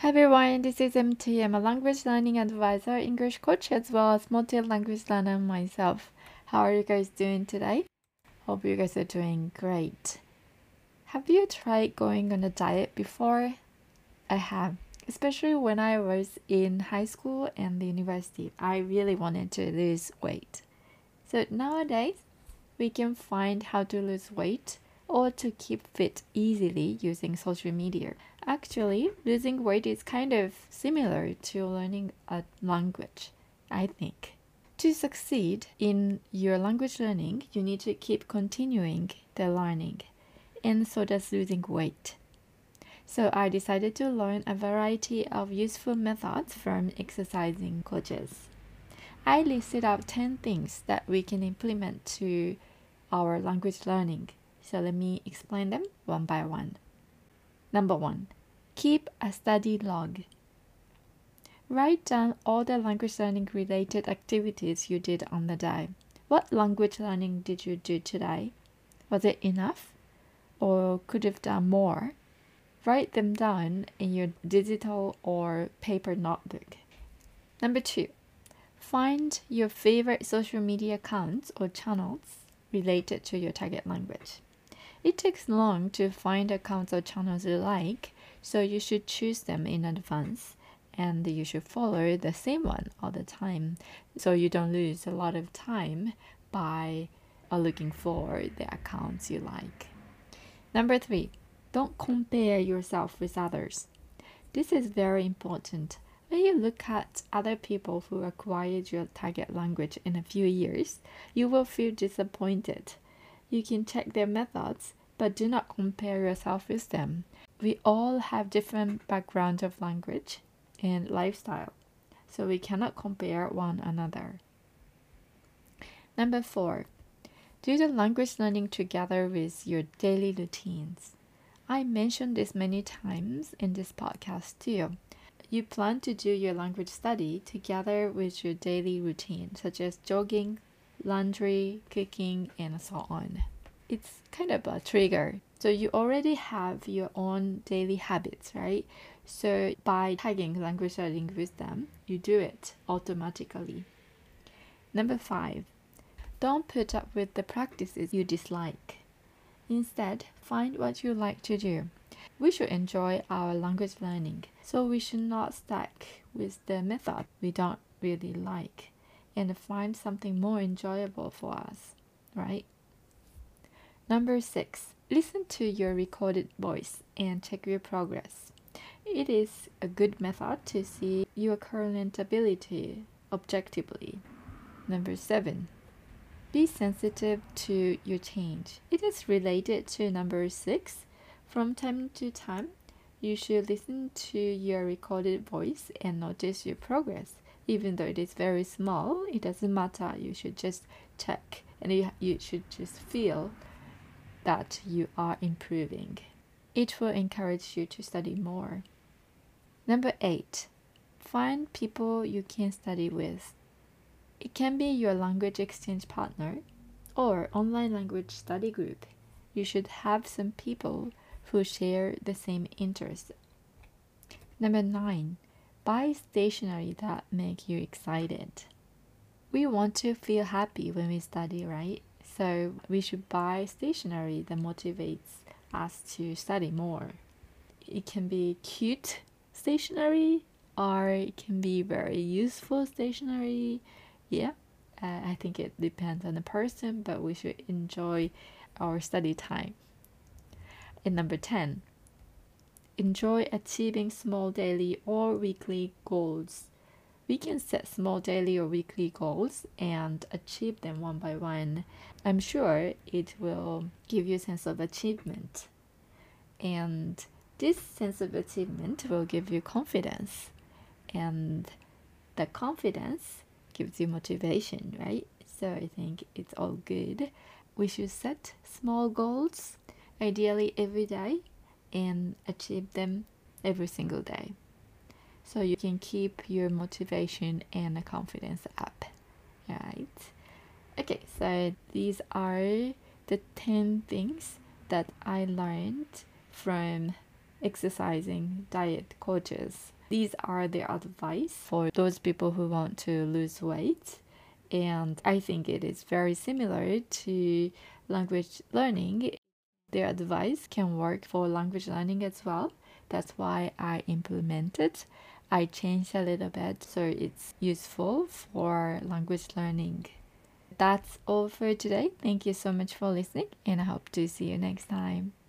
Hi everyone, this is MT. I'm a language learning advisor, English coach, as well as multi-language learner myself. How are you guys doing today? Hope you guys are doing great. Have you tried going on a diet before? I have, especially when I was in high school and the university. I really wanted to lose weight. So nowadays, we can find how to lose weight or to keep fit easily using social media. Actually, losing weight is kind of similar to learning a language, I think. To succeed in your language learning, you need to keep continuing the learning, and so does losing weight. So I decided to learn a variety of useful methods from exercising coaches. I listed out 10 things that we can implement to our language learning. So let me explain them one by one. Number 1, keep a study log. Write down all the language learning related activities you did on the day. What language learning did you do today? Was it enough? Or could have done more? Write them down in your digital or paper notebook. Number 2, find your favorite social media accounts or channels related to your target language. It takes long to find accounts or channels you like, so you should choose them in advance and you should follow the same one all the time so you don't lose a lot of time by looking for the accounts you like. Number 3, don't compare yourself with others. This is very important. When you look at other people who acquired your target language in a few years, you will feel disappointed. You can check their methods, but do not compare yourself with them. We all have different backgrounds of language and lifestyle, so we cannot compare one another. Number 4, do the language learning together with your daily routines. I mentioned this many times in this podcast too. You plan to do your language study together with your daily routine, such as jogging, laundry, cooking, and so on. It's kind of a trigger. So you already have your own daily habits, right? So by tagging language learning with them, you do it automatically. Number 5, don't put up with the practices you dislike. Instead, find what you like to do. We should enjoy our language learning, so we should not stuck with the method we don't really like and find something more enjoyable for us, right? Number 6, listen to your recorded voice and check your progress. It is a good method to see your current ability objectively. Number 7, be sensitive to your change. It is related to number 6. From time to time, you should listen to your recorded voice and notice your progress. Even though it is very small, it doesn't matter. You should just check and you should just feel that you are improving. It will encourage you to study more. Number 8, find people you can study with. It can be your language exchange partner or online language study group. You should have some people who share the same interests. Number 9, buy stationery that make you excited. We want to feel happy when we study, right? So we should buy stationery that motivates us to study more. It can be cute stationery or it can be very useful stationery. Yeah, I think it depends on the person, but we should enjoy our study time. And number 10, enjoy achieving small daily or weekly goals. We can set small daily or weekly goals and achieve them one by one. I'm sure it will give you a sense of achievement. And this sense of achievement will give you confidence. And the confidence gives you motivation, right? So I think it's all good. We should set small goals, ideally every day, and achieve them every single day, so you can keep your motivation and confidence up, right? Okay, so these are the 10 things that I learned from exercising, diet coaches. These are the advice for those people who want to lose weight. And I think it is very similar to language learning. Their advice can work for language learning as well. That's why I implemented. I changed a little bit so it's useful for language learning. That's all for today. Thank you so much for listening, and I hope to see you next time.